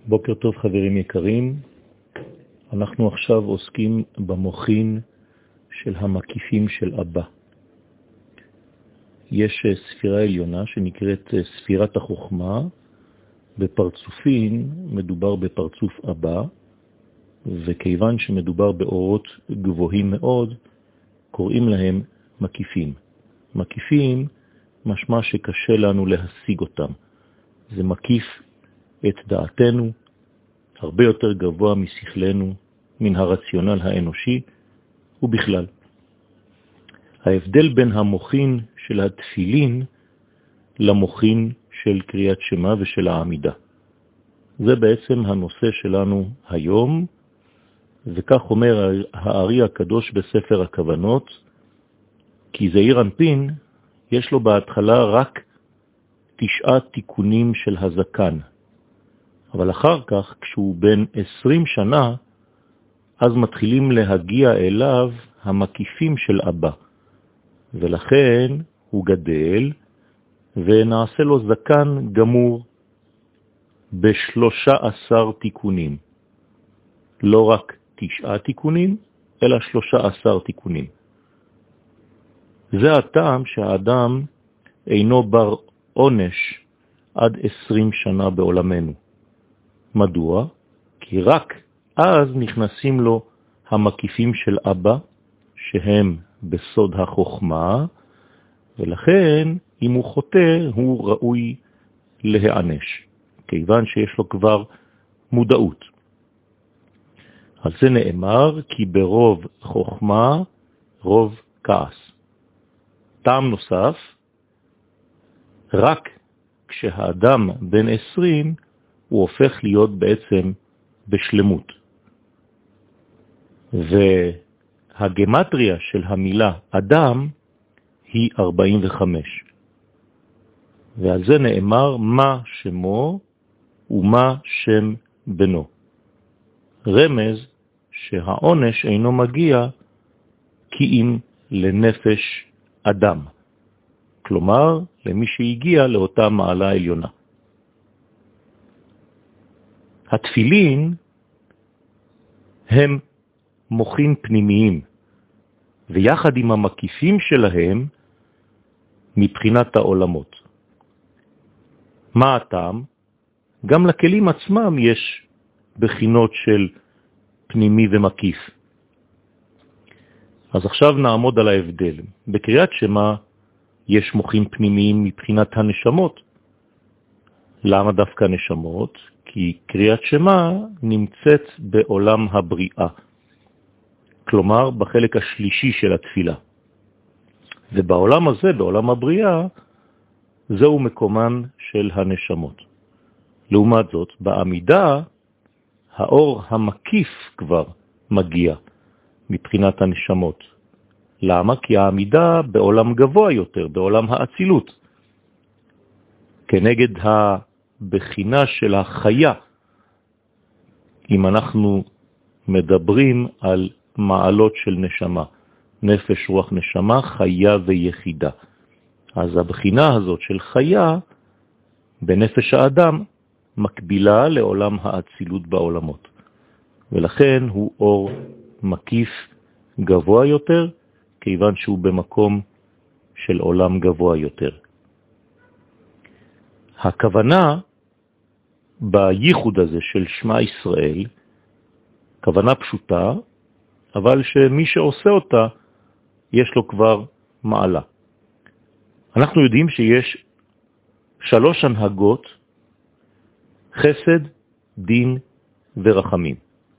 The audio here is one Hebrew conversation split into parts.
בוקר טוב חברים יקרים, אנחנו עכשיו עוסקים במוחין של המקיפים של אבא. יש ספירה עליונה שנקראת ספירת החוכמה, בפרצופין מדובר בפרצוף אבא, וכיוון שמדובר באורות גבוהים מאוד, קוראים להם מקיפים. מקיפים משמע שקשה לנו להשיג אותם. זה מקיף את דעתנו, הרבה יותר גבוה משכלנו, מן הרציונל האנושי, ובכלל. ההבדל בין המוחין של התפילין למוחין של קריאת שמה ושל העמידה. זה בעצם הנושא שלנו היום, וכך אומר הארי הקדוש בספר הכוונות, כי זעיר אנפין יש לו בהתחלה רק 9 תיקונים של הזקן, אבל אחר כך כשהוא בן 20 שנה, אז מתחילים להגיע אליו המקיפים של אבא, ולכן הוא גדל ונעשה לו זקן גמור ב13 תיקונים. לא רק 9 תיקונים, אלא 13 תיקונים. זה הטעם שהאדם אינו בר עונש עד 20 שנה בעולמנו. מדוע? כי רק אז נכנסים לו המקיפים של אבא, שהם בסוד החוכמה, ולכן אם הוא חוטא הוא ראוי להיענש, כיוון שיש לו כבר מודעות. על זה נאמר כי ברוב חוכמה רוב כעס. טעם נוסף, רק כשהאדם בן 20 הוא הופך להיות בעצם בשלמות. והגמטריה של המילה אדם היא 45. ועל זה נאמר מה שמו ומה שם בנו. רמז שהעונש אינו מגיע כי אם לנפש אדם. כלומר, למי שהגיע לאותה מעלה עליונה. התפילין הם מוחין פנימיים, ויחד עם המקיפים שלהם מבחינת העולמות. מה הטעם? גם לכלים עצמם יש בחינות של פנימי ומקיף. אז עכשיו נעמוד על ההבדל. בקריאת שמה יש מוחין פנימיים מבחינת הנשמות. למה דווקא נשמות? כי קריאת שמה נמצאת בעולם הבריאה. כלומר, בחלק השלישי של התפילה. ובעולם הזה, בעולם הבריאה, זהו מקומן של הנשמות. לעומת זאת, בעמידה, האור המקיף כבר מגיע מבחינת הנשמות. למה? כי העמידה בעולם גבוה יותר, בעולם האצילות. כנגד הבחינה של החיה, אם אנחנו מדברים על מעלות של נשמה, נפש, רוח, נשמה, חיה ויחידה. אז הבחינה הזאת של חיה בנפש האדם מקבילה לעולם האצילות בעולמות. ולכן הוא אור מקיף גבוה יותר, כיוון שהוא במקום של עולם גבוה יותר. הכוונה בייחוד הזה של שמע ישראל, כוונה פשוטה, אבל שמי שעושה אותה, יש לו כבר מעלה. אנחנו יודעים שיש 3 הנהגות, חסד, דין ורחמים.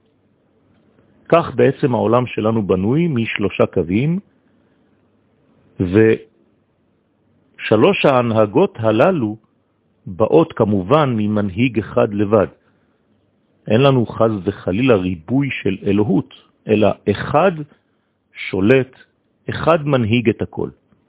כך בעצם העולם שלנו בנוי מ3 קווים, ו3 ההנהגות הללו באות כמובן ממנהיג אחד לבד. אין לנו חז וחלילה ריבוי של אלוהות, אלא אחד שולט, אחד מנהיג את הכל.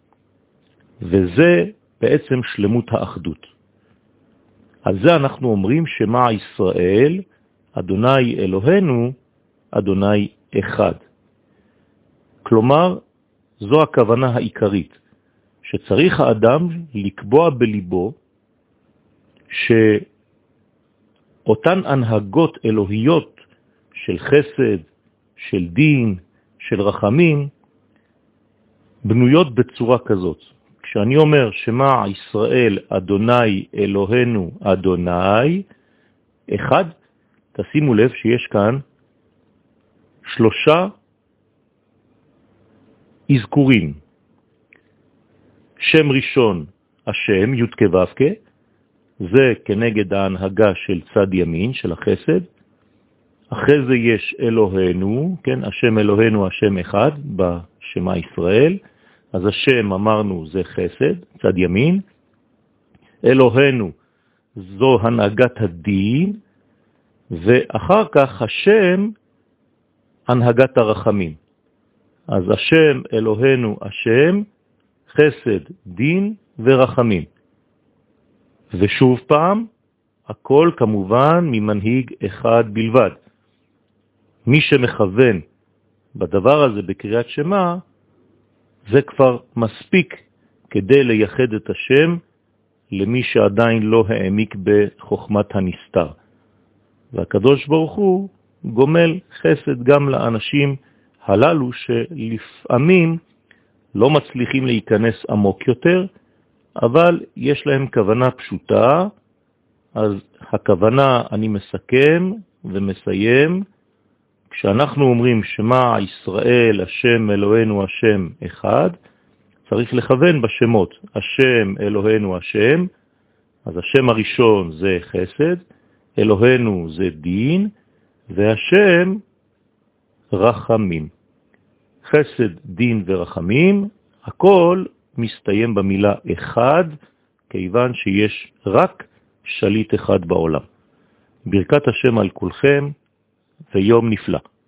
וזה בעצם שלמות האחדות. על זה אנחנו אומרים שמע ישראל, אדוני אלוהינו, אדוני אחד. כלומר, זו הכוונה העיקרית, שצריך האדם לקבוע בליבו אותן הנהגות אלוהיות של חסד, של דין, של רחמים, בנויות בצורה כזאת. כשאני אומר שמה ישראל אדוני אלוהינו אדוני אחד, תשימו לב שיש כאן 3 אזכורים. שם ראשון השם י' כ' ו' כ', זה כנגד ההנהגה של צד ימין של החסד. אחרי זה יש אלוהינו, כן, השם אלוהינו השם אחד בשמה ישראל. אז השם אמרנו זה חסד, צד ימין. אלוהינו זו הנהגת הדין, ואחר כך השם הנהגת הרחמים. אז השם אלוהינו השם, חסד, דין ורחמים. ושוב פעם, הכל כמובן ממנהיג אחד בלבד. מי שמכוון בדבר הזה בקריאת שמה, זה כבר מספיק כדי לייחד את השם למי שעדיין לא העמיק בחוכמת הנסתר. והקדוש ברוך הוא גומל חסד גם לאנשים הללו שלפעמים לא מצליחים להיכנס עמוק יותר, אבל יש להם כוונה פשוטה. אז הכוונה, אני מסכם ומסיים, כשאנחנו אומרים שמה ישראל השם אלוהינו השם אחד, צריך לכוון בשמות השם אלוהינו השם. אז השם הראשון זה חסד, אלוהינו זה דין, והשם רחמים. חסד, דין ורחמים, הכל מסתיים במילה אחד, כיוון שיש רק שליט אחד בעולם. ברכת השם על כולכם ויום נפלא.